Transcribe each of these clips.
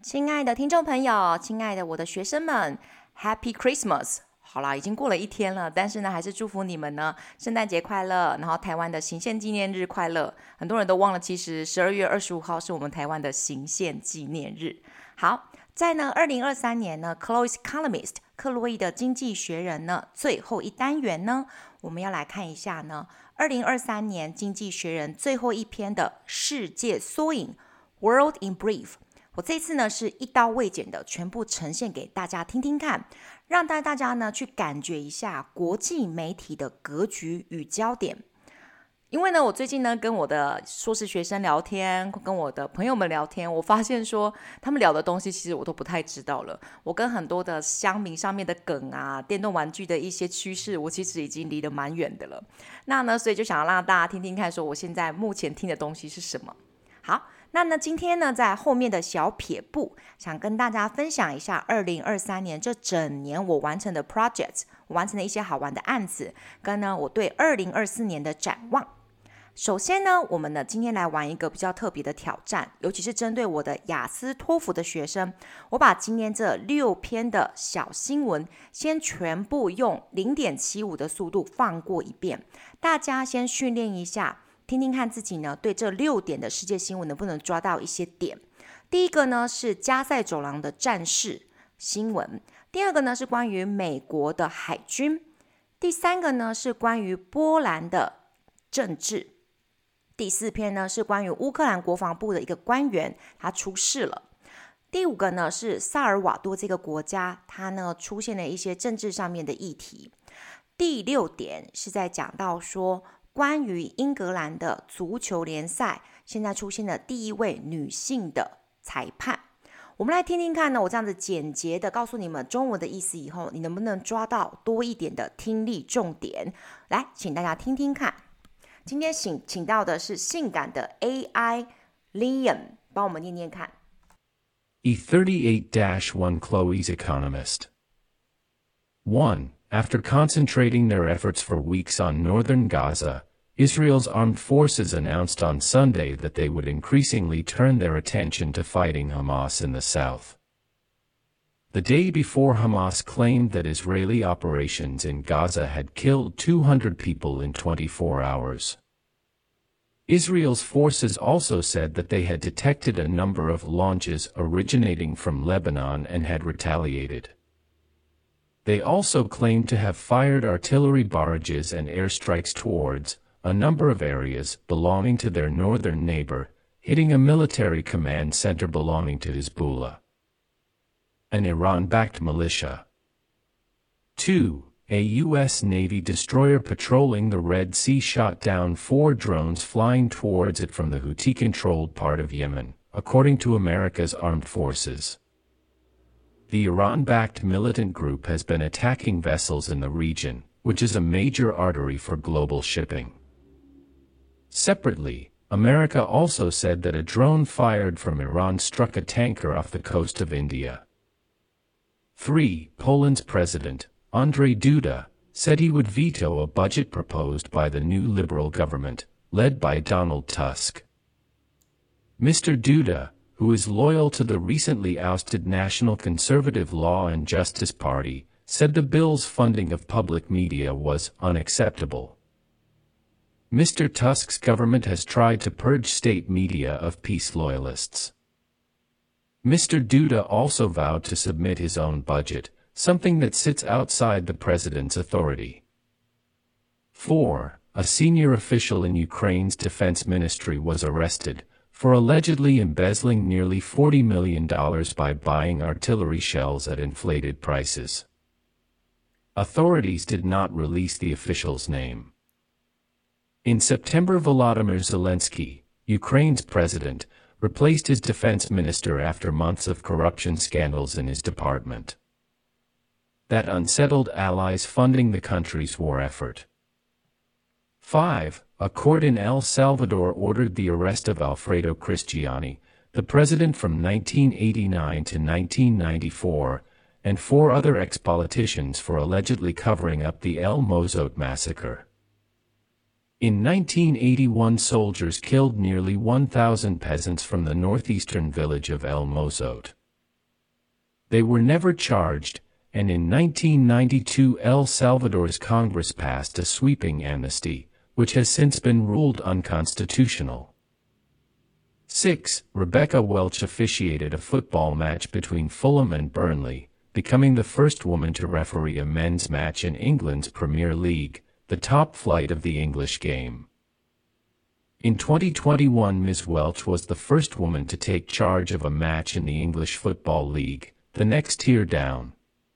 親愛的聽眾朋友，親愛的我的學生們 ，Happy Christmas！ 好啦，已經過了一天了，但是呢，還是祝福你們呢，聖誕節快樂，然後台灣的行憲紀念日快樂。很多人都忘了，其實12月25號是我們台灣的行憲紀念日。好，在呢2023年呢 ，Chloe's Economist 克洛伊的經濟學人呢，最後一單元呢，我們要來看一下呢，2023年經濟學人最後一篇的世界縮影 World in Brief。我這次呢是一刀未剪的，全部呈現給大家聽聽看，讓大家呢去感覺一下國際媒體的格局與焦點。因為呢，我最近呢跟我的碩士學生聊天，跟我的朋友們聊天，我發現說他們聊的東西其實我都不太知道了。我跟很多的鄉民上面的梗啊，電動玩具的一些趨勢，我其實已經離得蠻遠的了。那呢，所以就想要讓大家聽聽看，說我現在目前聽的東西是什麼。好。那呢，今天呢，在後面的小撇步，想跟大家分享一下2023年這整年我完成的 project， 我完成的一些好玩的案子，跟呢我對2024年的展望。首先呢，我們呢今天來玩一個比較特別的挑戰，尤其是針對我的雅思托福的學生，我把今天這6篇的小新聞，先全部用0.75的速度放過一遍，大家先訓練一下。聽聽看自己呢，對這6點的世界新聞能不能抓到一些點。第一個呢是加塞走廊的戰事新聞，第二個呢是關於美國的海軍，第三個呢是關於波蘭的政治，第4篇呢是關於烏克蘭國防部的一個官員他出事了，第5個呢是薩爾瓦多這個國家它呢出現了一些政治上面的議題，第6點是在講到說關於英格蘭的足球聯賽，現在出現了第一位女性的裁判。我們來聽聽看呢，我這樣子簡潔的告訴你們中文的意思以後，你能不能抓到多一點的聽力重點？來，請大家聽聽看。今天請到的是性感的 AI Liam， 幫我們念念看。 E38-1 Chloe's Economist 1. After concentrating their efforts for weeks on northern Gaza, Israel's armed forces announced on Sunday that they would increasingly turn their attention to fighting Hamas in the south. The day before, Hamas claimed that Israeli operations in Gaza had killed 200 people in 24 hours. Israel's forces also said that they had detected a number of launches originating from Lebanon and had retaliated. They also claimed to have fired artillery barrages and airstrikes towards a number of areas belonging to their northern neighbor, hitting a military command center belonging to Hezbollah, an Iran-backed militia. 2. A U.S. Navy destroyer patrolling the Red Sea shot down 4 drones flying towards it from the Houthi-controlled part of Yemen, according to America's armed forces. The Iran-backed militant group has been attacking vessels in the region, which is a major artery for global shipping. Separately, America also said that a drone fired from Iran struck a tanker off the coast of India. 3. Poland's president, Andrzej Duda, said he would veto a budget proposed by the new liberal government, led by Donald Tusk. Mr. Duda, who is loyal to the recently ousted National Conservative Law and Justice Party, said the bill's funding of public media was unacceptable. Mr. Tusk's government has tried to purge state media of peace loyalists. Mr. Duda also vowed to submit his own budget, something that sits outside the president's authority. 4. A senior official in Ukraine's defense ministry was arrested for allegedly embezzling nearly $40 million by buying artillery shells at inflated prices. Authorities did not release the official's name. In September, Volodymyr Zelensky, Ukraine's president, replaced his defense minister after months of corruption scandals in his department. That unsettled allies funding the country's war effort. 5. A court in El Salvador ordered the arrest of Alfredo Cristiani, the president from 1989 to 1994, and 4 other ex-politicians for allegedly covering up the El Mozote massacre. In 1981, soldiers killed nearly 1,000 peasants from the northeastern village of El Mozote. They were never charged, and in 1992 El Salvador's Congress passed a sweeping amnesty, which has since been ruled unconstitutional. 6. Rebecca Welch officiated a football match between Fulham and Burnley, becoming the first woman to referee a men's match in England's Premier League, the top flight of the English game. In 2021, Ms. Welch was the first woman to take charge of a match in the English Football League, the next tier down.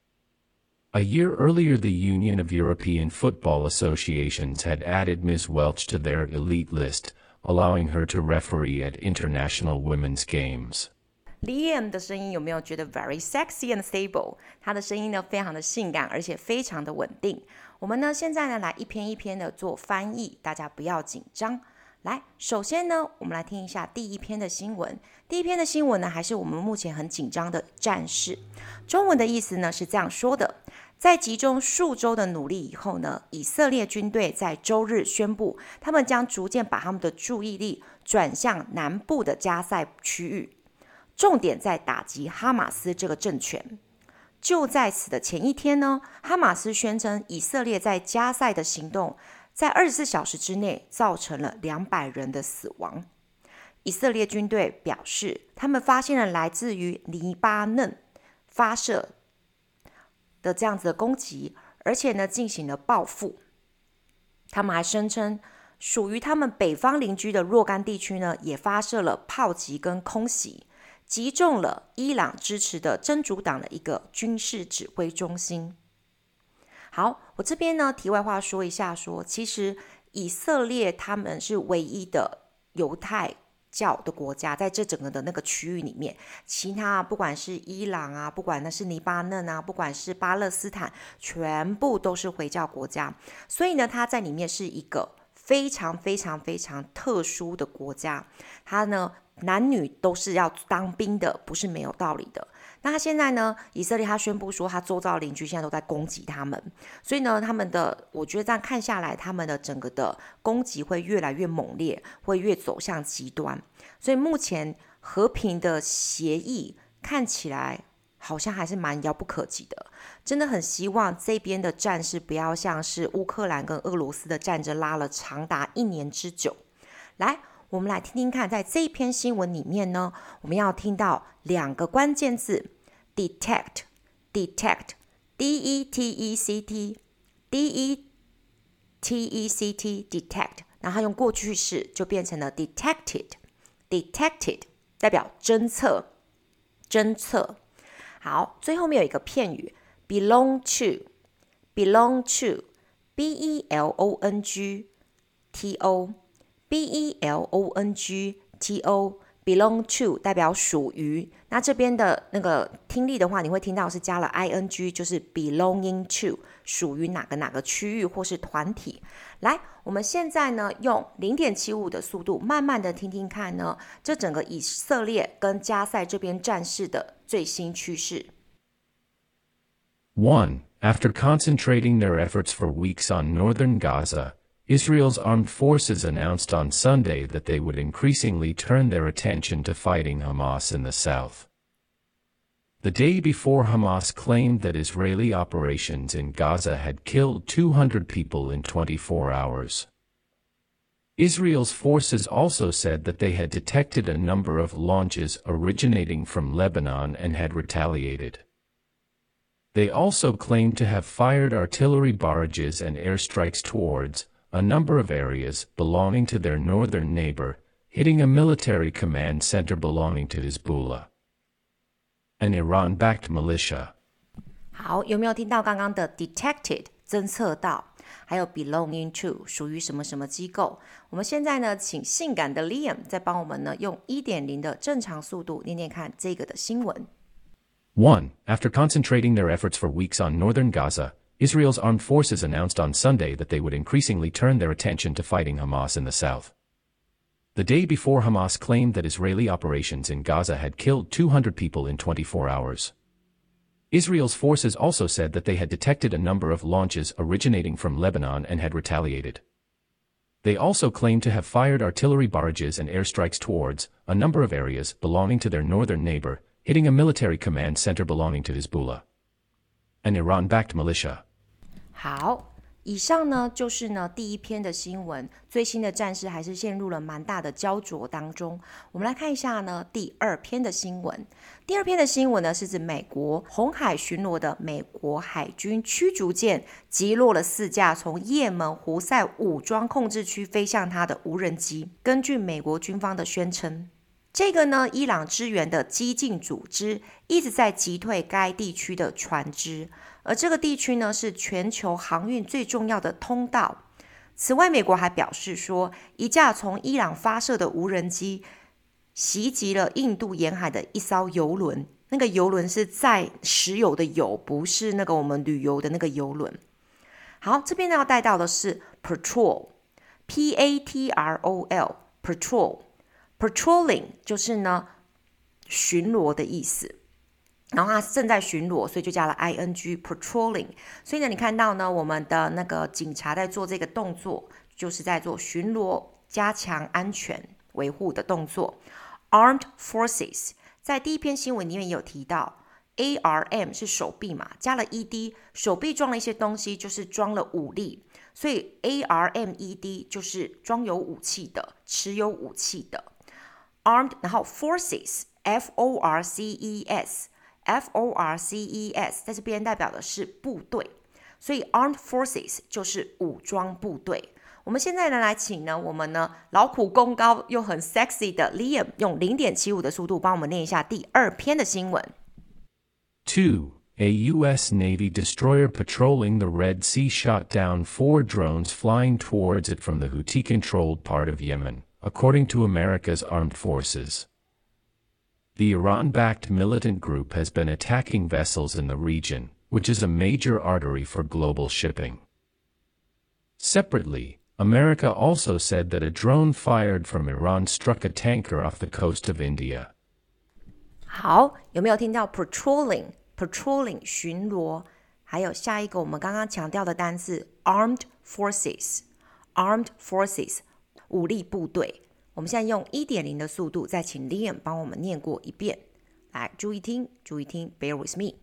A year earlier, the Union of European Football Associations had added Ms. Welch to their elite list, allowing her to referee at international women's games. Liam 的声音有没有觉得 very sexy and stable？ 他的声音呢非常的性感，而且非常的穩定。我们呢现在呢来一篇一篇的做翻译，大家不要緊張。來，首先呢，我們來聽一下第一篇的新聞。第一篇的新聞呢，還是我們目前很緊張的戰事。中文的意思呢是這樣說的：在集中數週的努力以後呢，以色列軍隊在週日宣布，他們將逐漸把他們的注意力轉向南部的加塞區域，重點在打擊哈馬斯這個政權。就在此的前一天呢，哈馬斯宣稱以色列在加塞的行動在24小時之內造成了200人的死亡。以色列軍隊表示，他們發現了來自於黎巴嫩發射的這樣子的攻擊，而且呢進行了報復。他們還聲稱，屬於他們北方鄰居的若干地區呢，也發射了炮擊跟空襲，擊中了伊朗支持的真主黨的一個軍事指揮中心。好，我這邊呢題外話說一下說，其實以色列他們是唯一的猶太教的國家，在這整個的那個區域裡面，其他不管是伊朗啊，不管那是黎巴嫩啊，不管是巴勒斯坦，全部都是回教國家，所以呢，它在裡面是一個非常非常非常特殊的國家，它呢男女都是要當兵的，不是沒有道理的。那他現在呢，以色列他宣布說，他周遭的鄰居現在都在攻擊他們，所以呢，他們的我覺得這樣看下來，他們的整個的攻擊會越來越猛烈，會越走向極端。所以目前和平的協議看起來好像還是蠻遙不可及的，真的很希望這邊的戰事不要像是烏克蘭跟俄羅斯的戰爭拉了長達1年之久。來，我們來聽聽看，在這一篇新聞裡面呢，我們要聽到2個關鍵字 detect D-E-T-E-C-T D-E-T-E-C-T detect， 然後用過去式就變成了 detected 代表偵測。好，最後面有一個片語 belong to B-E-L-O-N-G-T-O belong to 代表屬於，那這邊的那個聽力的話，你會聽到是加了 ing， 就是 belonging to 屬於哪個區域或是團體。來，我們現在呢用 0.75 的速度慢慢的聽聽看呢，這整個以色列跟加塞這邊戰事的最新趨勢。 1. After concentrating their efforts for weeks on northern Gaza, Israel's armed forces announced on Sunday that they would increasingly turn their attention to fighting Hamas in the south. The day before, Hamas claimed that Israeli operations in Gaza had killed 200 people in 24 hours. Israel's forces also said that they had detected a number of launches originating from Lebanon and had retaliated. They also claimed to have fired artillery barrages and airstrikes towards a number of areas belonging to their northern neighbor, hitting a military command center belonging to Hezbollah, an Iran-backed militia. 好，有沒有聽到剛剛的 detected 偵測到，還有 belonging to 屬於什麼什麼機構？我們現在呢，請性感的 Liam 再幫我們呢用 1.0 的正常速度念念看這個的新聞。 1. After concentrating their efforts for weeks on northern Gaza, Israel's armed forces announced on Sunday that they would increasingly turn their attention to fighting Hamas in the south. The day before, Hamas claimed that Israeli operations in Gaza had killed 200 people in 24 hours. Israel's forces also said that they had detected a number of launches originating from Lebanon and had retaliated. They also claimed to have fired artillery barrages and airstrikes towards a number of areas belonging to their northern neighbor, hitting a military command center belonging to Hezbollah, an Iran-backed militia. 好，以上呢就是呢第一篇的新聞，最新的戰事還是陷入了蠻大的焦灼當中。我們來看一下呢第二篇的新聞。第二篇的新聞呢是指美國紅海巡邏的美國海軍驅逐艦擊落了4架從也門胡塞武裝控制區飛向它的無人機。根據美國軍方的宣稱，這個呢伊朗支援的激進組織一直在擊退該地區的船隻，而這個地區呢是全球航運最重要的通道。此外，美國還表示說，一架從伊朗發射的無人機襲擊了印度沿海的一艘郵輪，那個郵輪是載石油的油，不是那個我們旅遊的那個郵輪。好，這邊呢要帶到的是 patrol， P-A-T-R-O-L， patrolling 就是呢巡邏的意思。然後它正在巡逻，所以就加了 ing patrolling。所以呢，你看到呢，我們的那個警察在做這個動作，就是在做巡邏、加強安全維護的動作。Armed Forces 在第一篇新聞裡面也有提到 ，ARM 是手臂嘛，加了 ED， 手臂裝了一些東西，就是裝了武力，所以 ARMED 就是裝有武器的、持有武器的。Armed， 然後 Forces Forces 在這邊代表的是部隊，所以 Armed Forces 就是武裝部隊。我們現在呢來請呢我們呢勞苦功高又很 sexy 的 Liam 用 0.75 的速度幫我們念一下第二篇的新聞。 2. A U.S. Navy destroyer patrolling the Red Sea shot down 4 drones flying towards it from the Houthi-controlled part of Yemen, according to America's armed forces. The Iran-backed militant group has been attacking vessels in the region, which is a major artery for global shipping. Separately, America also said that a drone fired from Iran struck a tanker off the coast of India. 好，有沒有聽到 patrolling 巡邏？還有下一個我們剛剛強調的單字 armed forces 武力部隊。我們現在用 1.0 的速度，再請 Liam 幫我們念過一遍。來，注意聽 ，bear with me.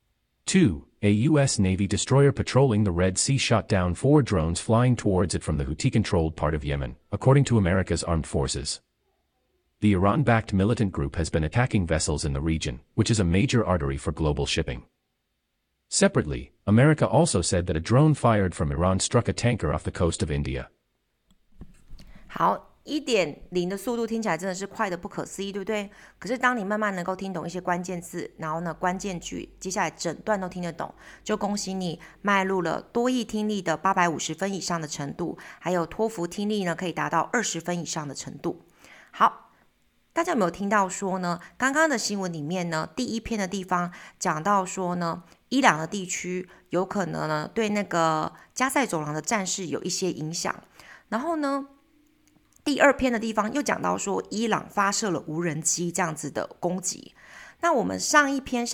2. A U.S. Navy destroyer patrolling the Red Sea shot down 4 drones flying towards it from the Houthi-controlled part of Yemen, according to America's armed forces. The Iran-backed militant group has been attacking vessels in the region, which is a major artery for global shipping. Separately, America also said that a drone fired from Iran struck a tanker off the coast of India. 好。1.0 的速度听起來真的是快得不可思議，對不對？可是當你慢慢能夠聽懂一些關鍵字，然後呢關鍵句，接下來整段都聽得懂，就恭喜你邁入了多益聽力的850分以上的程度，還有托福聽力呢可以達到20分以上的程度。好，大家有沒有聽到說呢？剛剛的新聞裡面呢，第一篇的地方講到說呢，伊朗的地區有可能呢對那個加塞走廊的戰事有一些影響，然後呢，第二篇的地方又講到說，伊朗發射了無人機這樣子的攻擊。那我們上一篇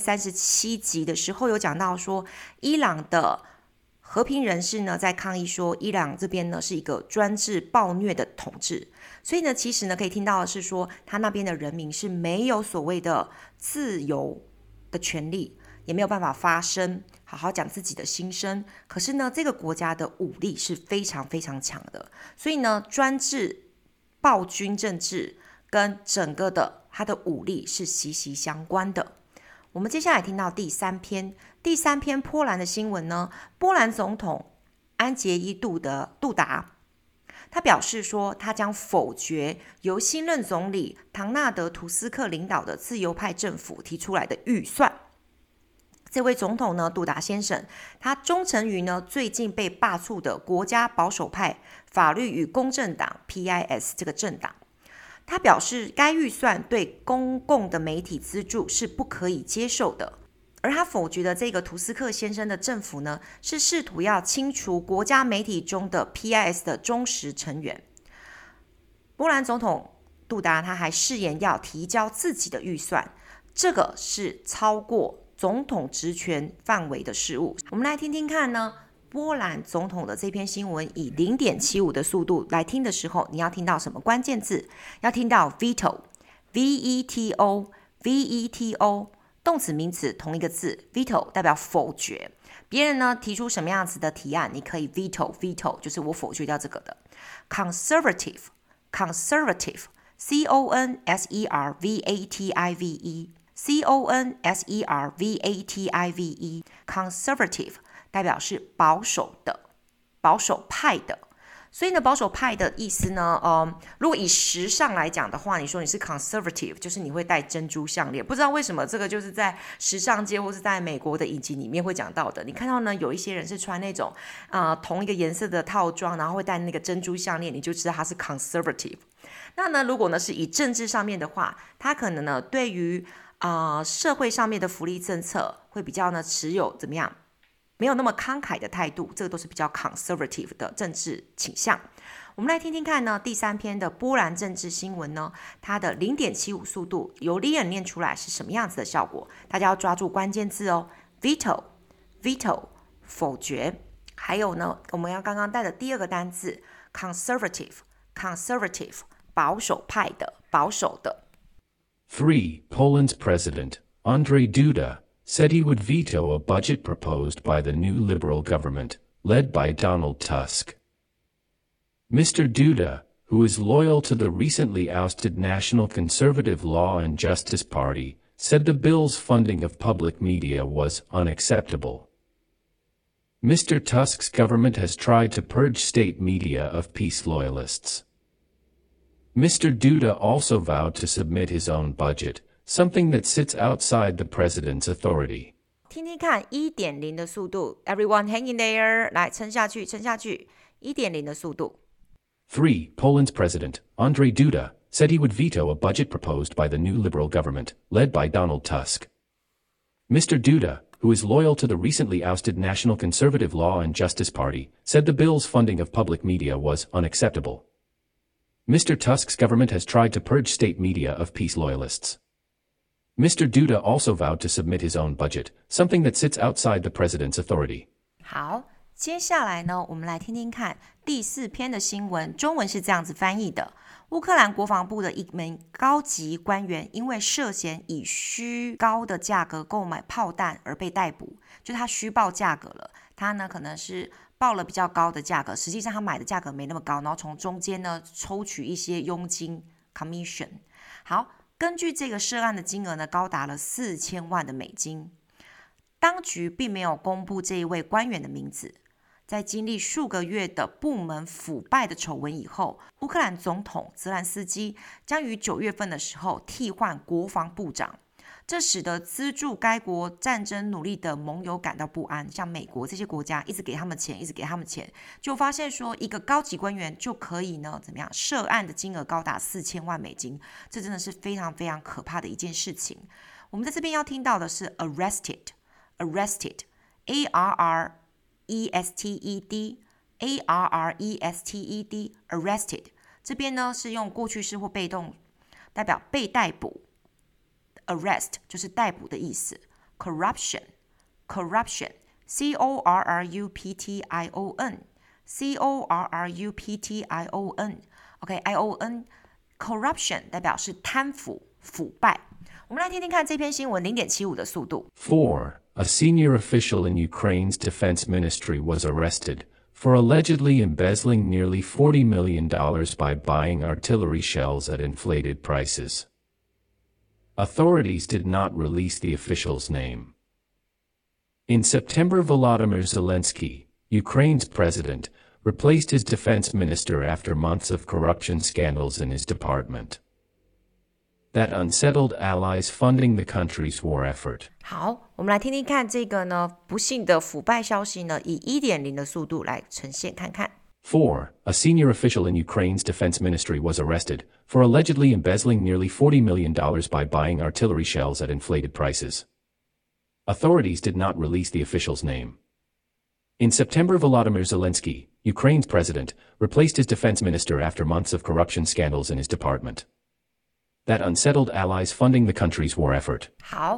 37集的時候有講到說，伊朗的和平人士呢在抗議說，伊朗這邊呢是一個專制暴虐的統治。所以呢，其實呢可以聽到的是說，他那邊的人民是沒有所謂的自由的權利，也沒有辦法發聲，好好講自己的心聲。可是呢，這個國家的武力是非常非常強的，所以呢，專制暴君政治跟整個的它的武力是息息相關的。我們接下來聽到第三篇波蘭的新聞呢，波蘭總統安傑伊·杜達，他表示說，他將否決由新任總理唐納德·圖斯克領導的自由派政府提出來的預算。這位總統呢，杜達先生，他忠誠於呢最近被罷黜的國家保守派法律與公正黨 PIS 這個政黨。他表示，該預算對公共的媒體資助是不可以接受的。而他否決的這個圖斯克先生的政府呢，是試圖要清除國家媒體中的 PIS 的忠實成員。波蘭總統杜達他還誓言要提交自己的預算，這個是超過總統職權範圍的事務。我們來聽聽看呢，波蘭總統的這篇新聞以 0.75 的速度來聽的時候，你要聽到什麼關鍵字？要聽到 veto，V-E-T-O veto 動詞名詞同一個字 veto 代表否決，別人呢提出什麼樣子的提案，你可以 veto 就是我否決掉這個的。conservative conservative conservative 代表是保守的，保守派的。所以呢，保守派的意思呢，如果以時尚來講的話，你說你是 conservative， 就是你會戴珍珠項鏈。不知道為什麼這個就是在時尚界或是在美國的影集裡面會講到的。你看到呢，有一些人是穿那種同一個顏色的套裝，然後會戴那個珍珠項鏈，你就知道他是 conservative。那呢，如果呢是以政治上面的話，他可能呢對於社會上面的福利政策會比較呢持有怎麼樣？沒有那麼慷慨的態度，這個都是比較 conservative 的政治傾向。我們來聽聽看呢，第3篇的波蘭政治新聞呢，它的 0.75 速度由 Liam 念出來是什麼樣子的效果？大家要抓住關鍵字哦 ，veto 否決，還有呢，我們要剛剛帶的第2個單字 conservative 保守派的，保守的。 3. Poland's president, Andrzej Duda, said he would veto a budget proposed by the new Liberal government, led by Donald Tusk. Mr. Duda, who is loyal to the recently ousted National Conservative Law and Justice Party, said the bill's funding of public media was unacceptable. Mr. Tusk's government has tried to purge state media of peace loyalists. Mr. Duda also vowed to submit his own budget, something that sits outside the president's authority. 听听看 1.0 的速度 Everyone hang in there 來撐下去 1.0 的速度 3. Poland's president, Andrzej Duda, said he would veto a budget proposed by the new Liberal government, led by Donald Tusk. Mr. Duda, who is loyal to the recently ousted National Conservative Law and Justice Party, said the bill's funding of public media was unacceptable. Mr. Tusk's government has tried to purge state media of peace loyalists. Mr. Duda also vowed to submit his own budget, something that sits outside the president's authority. 好，接下來呢，我們來聽聽看第4篇的新聞，中文是這樣子翻譯的。烏克蘭國防部的一名高級官員因為涉嫌以虛高的價格購買炮彈而被逮捕，就他虛報價格了。他呢可能是報了比較高的價格，實際上他買的價格沒那麼高，然後從中間呢抽取一些佣金 commission。好。根據這個涉案的金額呢，高達了4000萬的美金。當局並沒有公布這一位官員的名字。在經歷數個月的部門腐敗的醜聞以後，烏克蘭總統澤蘭斯基將於9月份的時候替換國防部長。這使得資助該國戰爭努力的盟友感到不安，像美國這些國家一直給他們錢，就發現說一個高級官員就可以呢怎麼樣涉案的金額高達4000萬美金，這真的是非常非常可怕的一件事情。我們在這邊要聽到的是 arrested arrested 這邊呢是用過去式或被動代表被逮捕。Arrest 就是逮捕的意思。Corruption C-O-R-R-U-P-T-I-O-N I-O-N Corruption 代表是貪腐腐敗。我們來聽聽看這篇新聞 0.75 的速度。 4. A senior official in Ukraine's defense ministry was arrested for allegedly embezzling nearly $40 million by buying artillery shells at inflated prices. Authorities did not release the official's name. In September, Volodymyr Zelensky, Ukraine's president, replaced his defense minister after months of corruption scandals in his department. That unsettled allies funding the country's war effort. 好，我們來聽聽看這個呢不幸的腐敗消息呢，以 1.0 的速度來呈現看看。 4. A senior official in Ukraine's defense ministry was arrested for allegedly embezzling nearly $40 million by buying artillery shells at inflated prices. Authorities did not release the official's name. In September, Volodymyr Zelensky, Ukraine's president, replaced his defense minister after months of corruption scandals in his department. That unsettled allies funding the country's war effort. 好，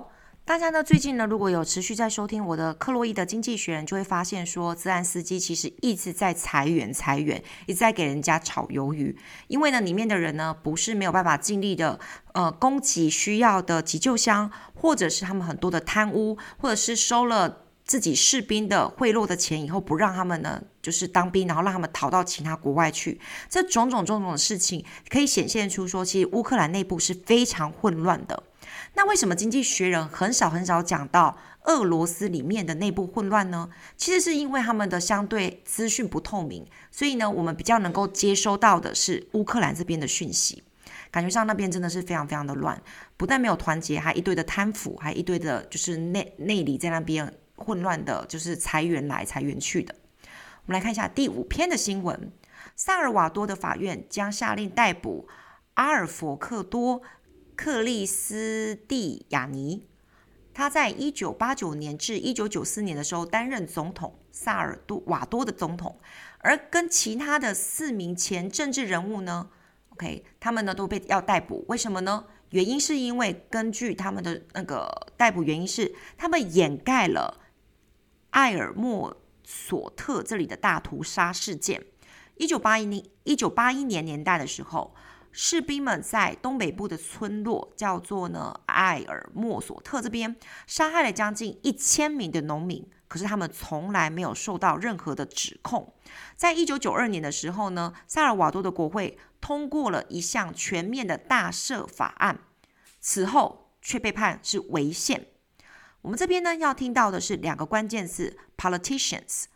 大家呢最近呢如果有持續在收聽我的克洛伊的經濟學人，就會發現說資安司機其實一直在裁員，一直在給人家炒魷魚。因為呢裡面的人呢不是沒有辦法盡力的供給需要的急救箱，或者是他們很多的貪污，或者是收了自己士兵的賄賂的錢以後不讓他們呢就是當兵，然後讓他們逃到其他國外去。這種種的事情可以顯現出說，其實烏克蘭內部是非常混亂的。那為什麼經濟學人很少講到俄羅斯裡面的內部混亂呢？其實是因為他們的相對資訊不透明，所以呢我們比較能夠接收到的是烏克蘭這邊的訊息。感覺上那邊真的是非常的亂，不但沒有團結，還一堆的貪腐，還一堆的就是內裡在那邊混亂的，就是裁員來裁員去的。我們來看一下第5篇的新聞。薩爾瓦多的法院將下令逮捕阿爾佛克多克利斯蒂亞尼，他在1989年至1994年的時候擔任總統，薩爾瓦多的總統，而跟其他的4名前政治人物呢 ，OK， 他們呢都被要逮捕，為什麼呢？原因是因為根據他們的那個逮捕原因是，他們掩蓋了埃爾莫索特這裡的大屠殺事件。1981年年代的時候，士兵們在東北部的村落叫做呢埃爾莫索特這邊殺害了將近1000名的農民，可是他們從來沒有受到任何的指控。在1992年的時候呢，薩爾瓦多的國會通過了一項全面的大赦法案，此後卻被判是違憲。我們這邊呢要聽到的是2個關鍵字 politicians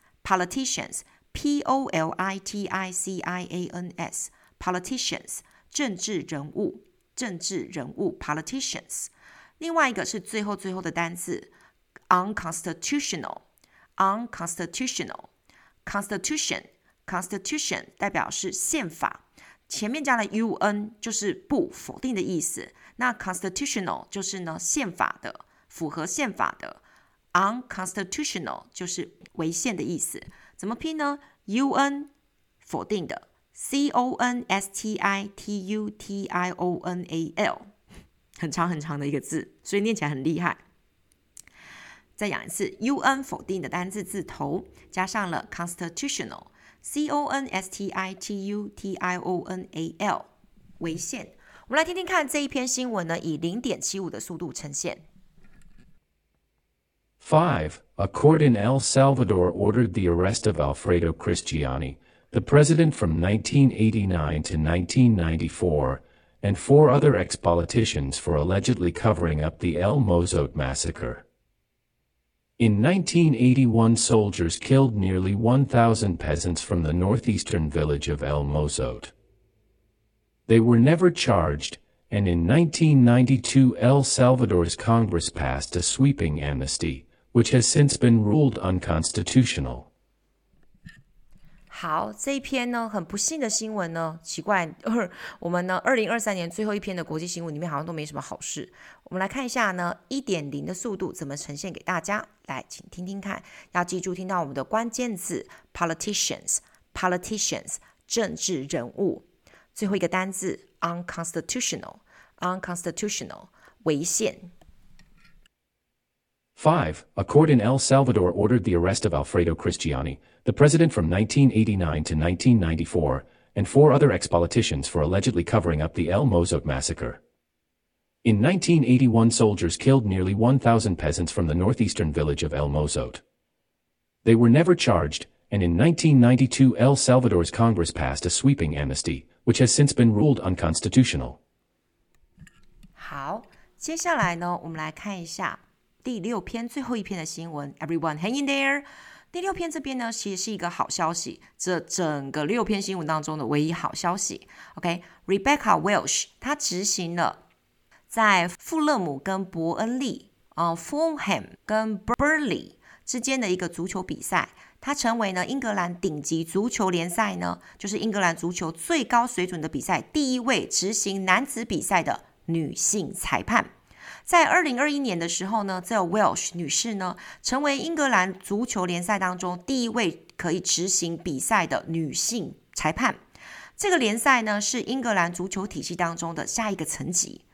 P-O-L-I-T-I-C-I-A-N-S politicians 政治人物 politicians。 另外一個是最後的單字 unconstitutional constitution 代表是憲法，前面加了 un 就是不否定的意思，那 constitutional 就是呢憲法的，符合憲法的， unconstitutional 就是違憲的意思。怎麼拼呢？ un 否定的， constitutional 很長的一個字，所以念起來很厲害。再講一次， un 否定的單字字頭加上了 constitutional constitutional 違憲。我們來聽聽看這一篇新聞呢，以 0.75 的速度呈現。 5. A court in El Salvador ordered the arrest of Alfredo Cristiani, the president from 1989 to 1994, and 4 other ex-politicians for allegedly covering up the El Mozote massacre. In 1981, soldiers killed nearly 1,000 peasants from the northeastern village of El Mozote. They were never charged, and in 1992, El Salvador's Congress passed a sweeping amnesty, which has since been ruled unconstitutional. 好，這一篇呢很不幸的新聞呢，奇怪，我們呢2023年最後一篇的國際新聞裡面好像都沒什麼好事。我們來看一下呢 1.0 的速度怎麼呈現給大家，來請聽聽看，要記住聽到我們的關鍵字 politicians 政治人物，最後一個單字 unconstitutional 違憲。 5. A court in El Salvador ordered the arrest of Alfredo Cristiani, the president from 1989 to 1994, and 4 other ex-politicians for allegedly covering up the El Mozote massacre. In 1981, soldiers killed nearly 1,000 peasants from the northeastern village of El Mozote. They were never charged, and in 1992, El Salvador's Congress passed a sweeping amnesty, which has since been ruled unconstitutional. 好，接下來呢，我們來看一下第6篇最後一篇的新聞 Everyone hang in there。 第6篇這邊呢其實是一個好消息，這整個6篇新聞當中的唯一好消息。 Rebecca Welch 她執行了在富勒姆跟伯恩利Fulham 跟 Burnley 之間的一個足球比賽，她成為呢英格蘭頂級足球聯賽呢，就是英格蘭足球最高水準的比賽第一位執行男子比賽的女性裁判。在2021年的時候呢，這 Welsh 女士呢，成為英格蘭足球聯賽當中第一位可以執行比賽的女性裁判。這個聯賽呢，是英格蘭足球體系當中的下一個層級。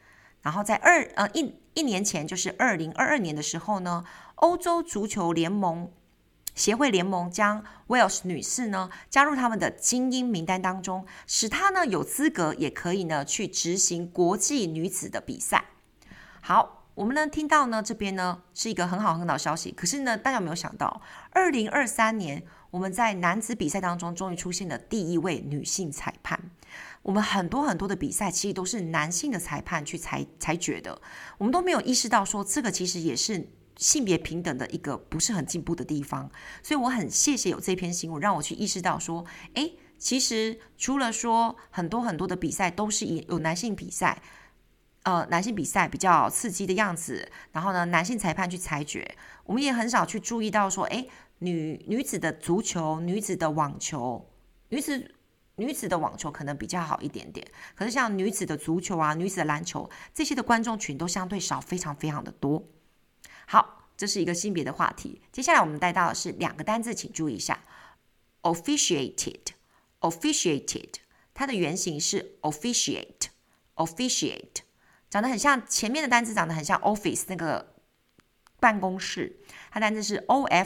然後在一年前，就是2022年的時候呢，歐洲足球協會聯盟將 Welsh 女士呢加入他們的精英名單當中，使她呢有資格也可以呢去執行國際女子的比賽。好，我們呢聽到呢這邊呢是一個很好的消息，可是呢大家有沒有想到，2023年我們在男子比賽當中終於出現了第一位女性裁判。我們很多的比賽其實都是男性的裁判去裁決的，我們都沒有意識到說這個其實也是性別平等的一個不是很進步的地方。所以我很謝謝有這篇新聞讓我去意識到說，其實除了說很多的比賽都是有男性比賽比較刺激的樣子，然後呢男性裁判去裁決，我們也很少去注意到說女子的足球、女子的网球、女子的网球可能比較好一点点，可是像女子的足球啊、女子的篮球這些的觀眾群都相對少，非常非常的多。好，這是一個性別的話題。接下來我們帶到的是2個單字，請注意一下。officiated， 它的原型是 officiate， 長得很像前面的单字，長得很像 office 那個辦公室，它單字是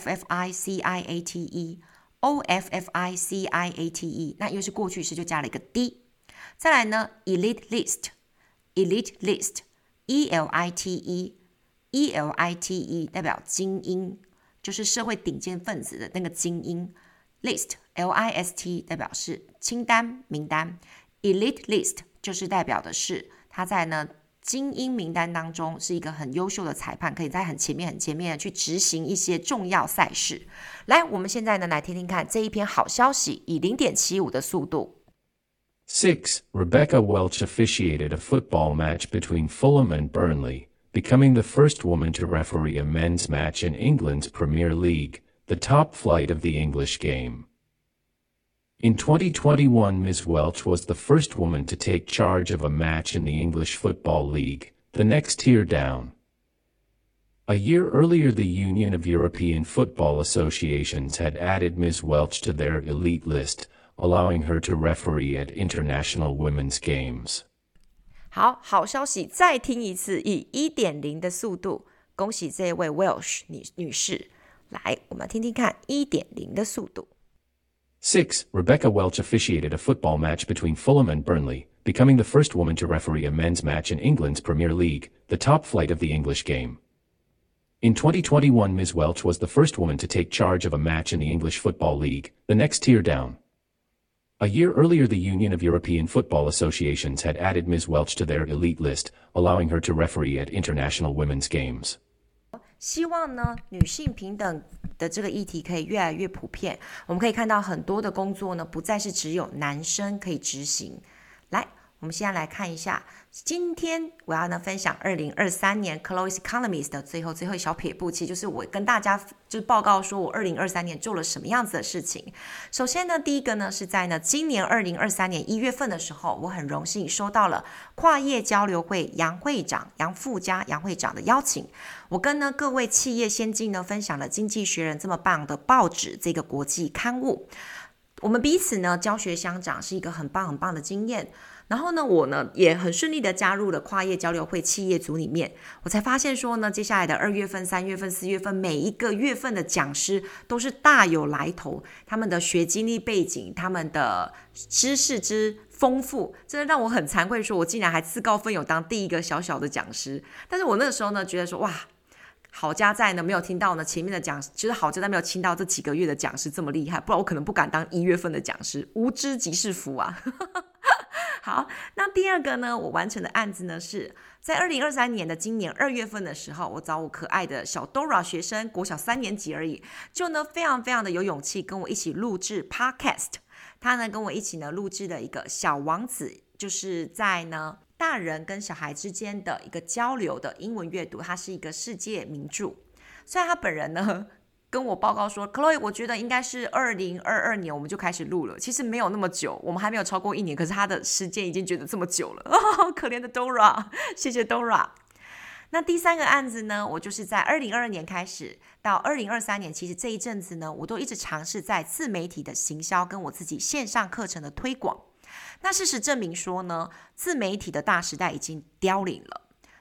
officiate， 那因為是過去式就加了一個 d。 再來呢 elite list elite 代表精英，就是社會頂尖分子的那個精英。 list 代表是清單名單， elite list 就是代表的是他在呢精英名單當中是一個很優秀的裁判，可以在很前面的去執行一些重要賽事。來，我們現在呢來聽聽看這一篇好消息，以 0.75 的速度。 6. Rebecca Welch officiated a football match between Fulham and Burnley, becoming the first woman to referee a men's match in England's Premier League, the top flight of the English game. In 2021, Ms. Welch was the first woman to take charge of a match in the English Football League, the next tier down. A year earlier, the Union of European Football Associations had added Ms. Welch to their elite list, allowing her to referee at international women's games. 好消息，再听一次，以 1.0 的速度，恭喜這位 Welsh 女士。來，我們聽聽看 1.0 的速度。 6. Rebecca Welch officiated a football match between Fulham and Burnley, becoming the first woman to referee a men's match in England's Premier League, the top flight of the English game. In 2021, Ms. Welch was the first woman to take charge of a match in the English Football League, the next tier down. A year earlier, the Union of European Football Associations had added Ms. Welch to their elite list, allowing her to referee at international women's games. 希望呢，女性平等的这個議題可以越來越普遍。我們可以看到很多的工作呢，不再是只有男生可以執行。來，我們現在來看一下，今天我要呢分享2023年 Chloe's Economics 的最後一小撇步，其實就是我跟大家就是報告說我2023年做了什麼樣子的事情。首先呢，第一個呢是在呢今年2023年1月份的時候，我很榮幸收到了跨業交流會楊會長的邀請，我跟呢各位企業先進呢分享了《經濟學人》這麼棒的報紙這個國際刊物，我們彼此呢教學相長，是一個很棒的經驗。然後呢，我呢也很順利的加入了跨業交流會企業組裡面，我才發現說呢，接下來的2月份、3月份、4月份，每一個月份的講師都是大有來頭，他們的學經歷背景，他們的知識之豐富，真的讓我很慚愧，說我竟然還自告奮勇當第一個小小的講師。但是我那個時候呢，覺得說哇，好家在呢沒有聽到呢前面的講師，就是好家在沒有聽到這幾個月的講師這麼厲害，不然我可能不敢當1月份的講師，無知即是福啊。好，那第二個呢，我完成的案子呢是在2023年的今年2月份的時候，我找我可愛的小 Dora 學生，國小3年級而已，就呢非常的有勇氣跟我一起錄製 Podcast。他呢跟我一起呢錄製了一個小王子，就是在呢大人跟小孩之間的一個交流的英文閱讀，它是一個世界名著。雖然他本人呢跟我報告說 Chloe 我覺得應該是2022年我們就開始錄了，其實沒有那麼久，我們還沒有超過1年，可是他的時間已經覺得這麼久了，可憐的 Dora， 謝謝 Dora。 那第三個案子呢，我就是在2022年開始到2023年，其實這一陣子呢，我都一直嘗試在自媒體的行銷跟我自己線上課程的推廣。那事實證明說呢，自媒體的大時代已經凋零了。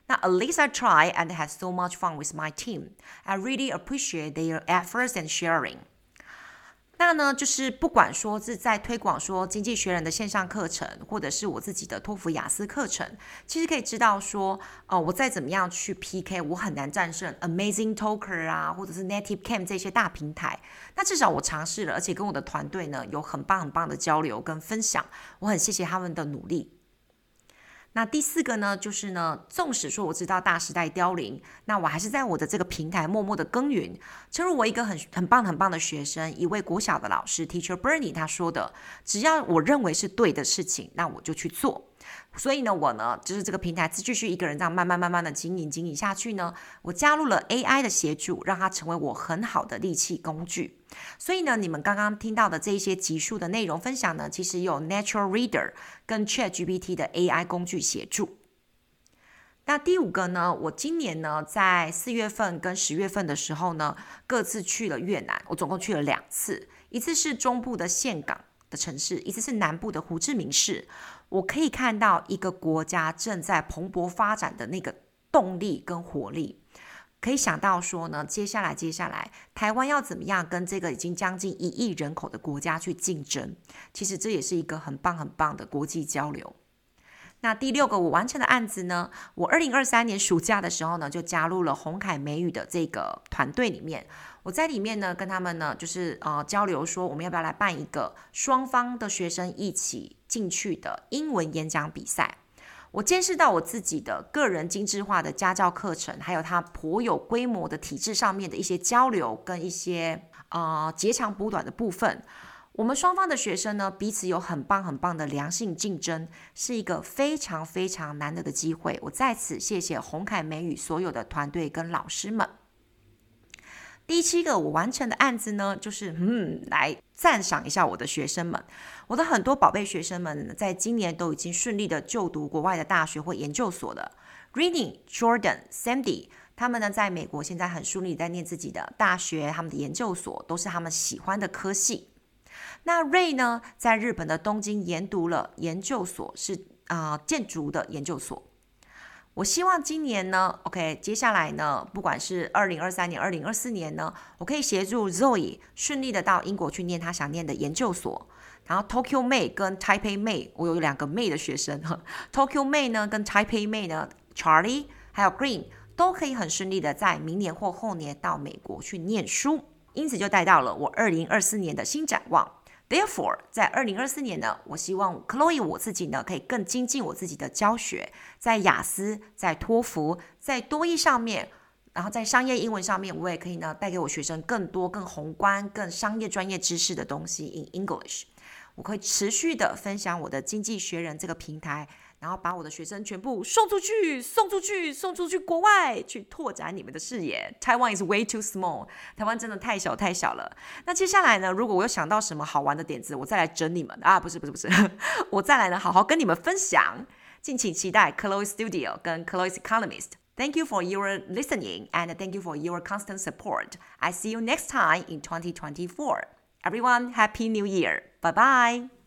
那 At least I try and had so much fun with my team. I really appreciate their efforts and sharing. 那呢，就是不管說是在推廣說經濟學人的線上課程，或者是我自己的托福雅思課程，其實可以知道說，我再怎麼樣去 PK， 我很難戰勝 Amazing Talker 啊，或者是 Native Camp 這些大平台。那至少我嘗試了，而且跟我的團隊呢有很棒很棒的交流跟分享，我很謝謝他們的努力。那第四個呢，就是呢，縱使說我知道大時代凋零，那我還是在我的這個平台默默的耕耘。正如我一個很棒的學生，一位國小的老師 Teacher Bernie 他說的，只要我認為是對的事情，那我就去做。所以呢，我呢就是這個平台繼續一個人這樣慢慢的經營下去呢，我加入了 AI 的協助，讓它成為我很好的利器工具。所以呢，你們剛剛聽到的這一些集數的內容分享呢，其實有 Natural Reader 跟 ChatGPT 的 AI 工具協助。那第五個呢，我今年呢在4月份跟10月份的時候呢，各自去了越南，我總共去了2次，一次是中部的岘港的城市，一次是南部的胡志明市。我可以看到一個國家正在蓬勃發展的那個動力跟活力，可以想到說呢，接下來台灣要怎麼樣跟這個已經將近1億人口的國家去競爭，其實這也是一個很棒的國際交流。那第6個我完成的案子呢，我2023年暑假的時候呢，就加入了鴻凱美語的這個團隊裡面。我在裡面呢，跟他們呢，就是交流說，我們要不要來辦一個雙方的學生一起進去的英文演講比賽。我見識到我自己的個人精緻化的家教課程，還有它頗有規模的體制上面的一些交流跟一些截長補短的部分。我們雙方的學生呢，彼此有很棒的良性競爭，是一個非常難得的機會。我在此謝謝鴻凱美語所有的團隊跟老師們。第7個我完成的案子呢，就是來讚賞一下我的學生們。我的很多寶貝學生們在今年都已經順利的就讀國外的大學或研究所了。Rini、Jordan、Sandy 他們呢，在美國現在很順利在念自己的大學，他們的研究所都是他們喜歡的科系。那 Ray 呢，在日本的東京研讀了研究所，是建築的研究所。我希望今年呢 ，OK， 接下來呢，不管是2023年、2024年呢，我可以協助 Zoe 順利的到英國去念他想念的研究所。然後 Tokyo May 跟 Taipei May， 我有2個 May 的學生，Tokyo May 呢跟 Taipei May 呢 ，Charlie 還有 Green 都可以很順利的在明年或後年到美國去念書。因此就帶到了我2024年的新展望。Therefore， 在2024年呢，我希望 Chloe 我自己呢，可以更精進我自己的教學，在雅思、在托福、在多益上面，然後在商業英文上面，我也可以呢，帶給我學生更多、更宏觀、更商業專業知識的東西 in English。我可以持續的分享我的經濟學人這個平台，然後把我的學生全部送出去國外去拓展你們的視野。Taiwan is way too small， 台灣真的太小了。那接下來呢，如果我有想到什麼好玩的點子，我再來整你們啊，不是，我再來呢，好好跟你們分享。敬請期待 Chloe Studio 跟 Chloe's Economist。Thank you for your listening and thank you for your constant support. I see you next time in 2024. Everyone, Happy New Year. Bye bye.